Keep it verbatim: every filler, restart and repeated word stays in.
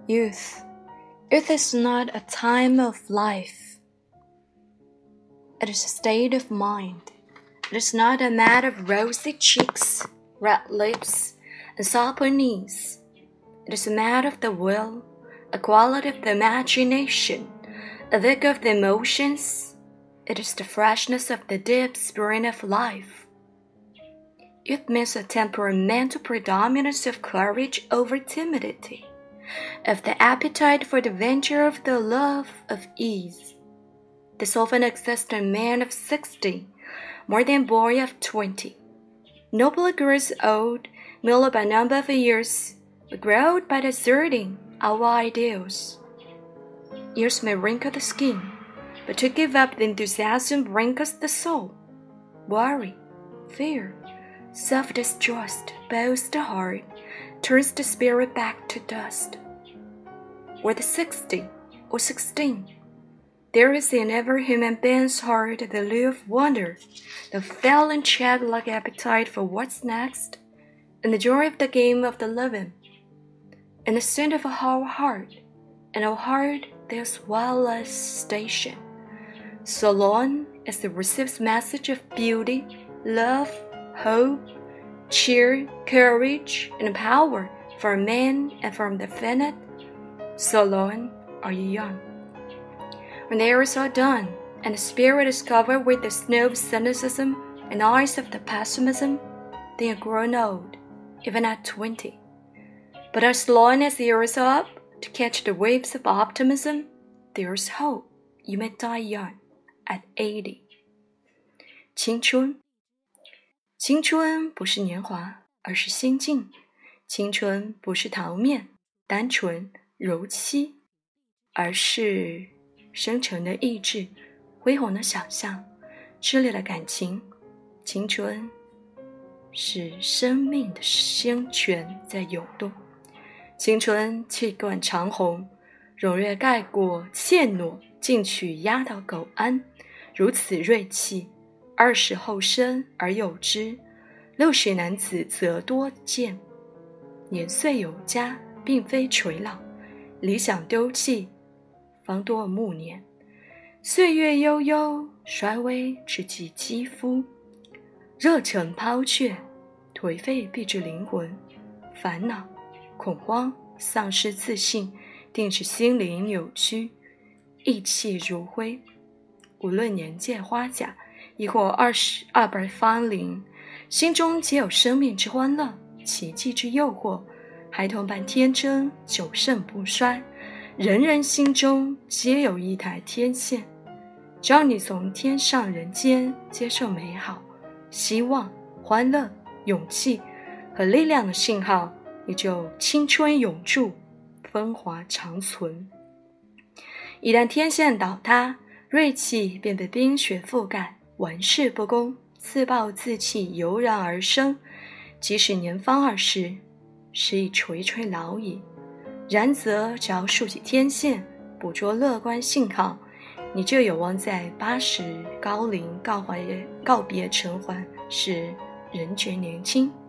Youth. Youth is not a time of life. It is a state of mind. It is not a matter of rosy cheeks, red lips, and supple knees. It is a matter of the will, a quality of the imagination, a vigor of the emotions. It is the freshness of the deep spring of life. Youth means a temperamental predominance of courage over timidity, of the appetite for the venture, of the love of ease. This often exists in men of sixty, more than a boy of twenty. Nobly grows old, merely by number of years, but growed by deserting our ideals. Years may wrinkle the skin, but to give up the enthusiasm wrinkles the soul. Worry, fear, self-distrust bows the heart, turns the spirit back to dust. Whether sixty or sixteen, there is in every human being's heart the lure of wonder, the fell and childlike appetite for what's next, and the joy of the game of the living. In the center of our heart, in our heart there's wireless station. So long as it receives message of beauty, love, hope, cheer, courage, and power from man and from the infinite, so long are you young. When the years are done, and the spirit is covered with the snow of cynicism and eyes of the pessimism, then you're grown old, even at twenty. But as long as the years are up to catch the waves of optimism, there's hope. You may die young at eighty. 青春，青春不是年华，而是心境；青春不是桃面、单纯、柔漆，而是深沉的意志、恢宏的想象、炽烈的感情。青春是生命的鲜泉在涌动，青春气贯长虹，踊跃盖过怯懦，进取压倒苟安。如此锐气，二十后生而有之，六十男子则多见。年岁有加，并非垂老，理想丢弃，方多暮年。岁月悠悠，衰微只及肌肤。热忱抛却，颓废蔽至灵魂。烦恼、恐慌、丧失自信，定使心灵扭曲，意气如灰。无论年届花甲，亦或二十二百芳龄，心中皆有生命之欢乐，奇迹之诱惑。孩童般天真，久盛不衰。人人心中皆有一台天线，只要你从天上人间接受美好、希望、欢乐、勇气和力量的信号，你就青春永驻，风华长存。一旦天线倒塌，锐气便被冰雪覆盖，玩世不恭，自暴自弃油然而生。即使年方二十，实已垂垂老矣。然则只要竖起天线，捕捉乐观信号，你就有望在八十高龄告怀告别尘寰时仍觉年轻。